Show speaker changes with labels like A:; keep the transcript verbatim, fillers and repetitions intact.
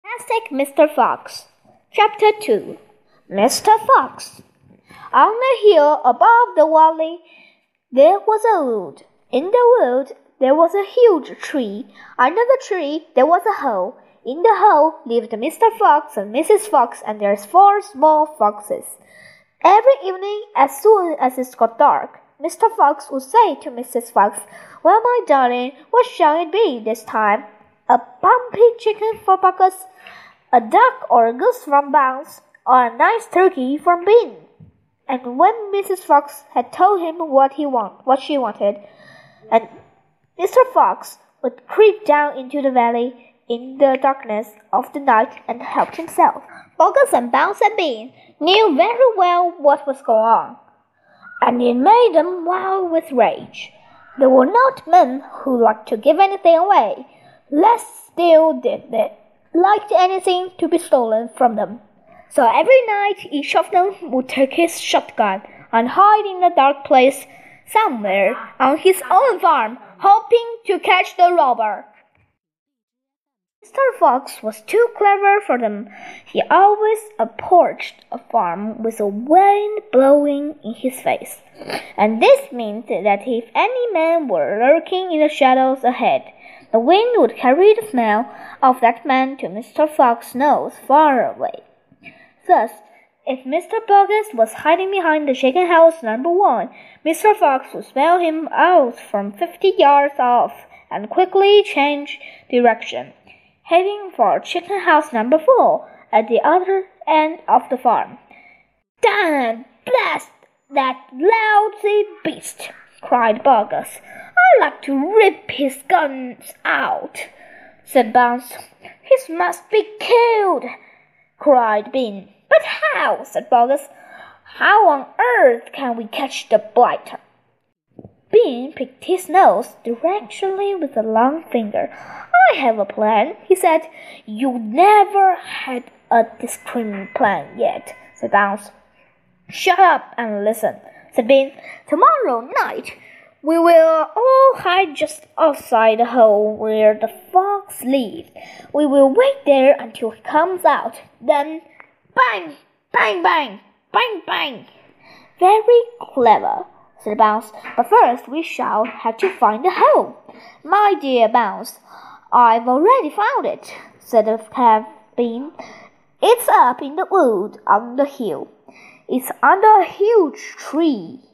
A: Fantastic Mister Fox. Chapter two. Mister Fox. On the hill above the valley there was a wood. In the wood there was a huge tree. Under the tree there was a hole. In the hole lived Mister Fox and Missus Fox and their four small foxes. Every evening, as soon as it got dark, Mister Fox would say to Missus Fox, "Well, my darling, what shall it be this time? A bumpy chicken for Buckus, a duck or a goose from Bounce, or a nice turkey from Bean?" And when Missus Fox had told him what he want, what she wanted, and Mister Fox would creep down into the valley in the darkness of the night and help himself. Buckus and Bounce and Bean knew very well what was going on, and it made them wild with rage. They were not men who liked to give anything away, less still did they like anything to be stolen from them. So every night each of them would take his shotgun and hide in a dark place somewhere on his own farm, hoping to catch the robber. Mister Fox was too clever for them. He always approached a farm with a wind blowing in his face, and this meant that if any men were lurking in the shadows ahead, the wind would carry the smell of that man to Mister Fox's nose far away. Thus, if Mister Buckus was hiding behind the chicken house number one, Mister Fox would smell him out from fifty yards off and quickly change direction, heading for chicken house number four at the other end of the farm. "Damn blast that lousy beast!" cried Buckus. "I'd like to rip his guns out," said Bounce. "He must be killed," cried Bean. "But how?" said Buckus. "How on earth can we catch the blighter?" Bean picked his nose directionally with a long finger. "I have a plan," he said. "You never had a discreet plan yet," said Bounce. "Shut up and listen," said Bean. "Tomorrow night we will all hide just outside the hole where the fox lives. We will wait there until he comes out. Then bang, bang, bang, bang, bang." "Very clever," said Bounce. "But first we shall have to find the hole." "My dear Bounce, I've already found it," said the cat Bean. "It's up in the wood on the hill. It's under a huge tree."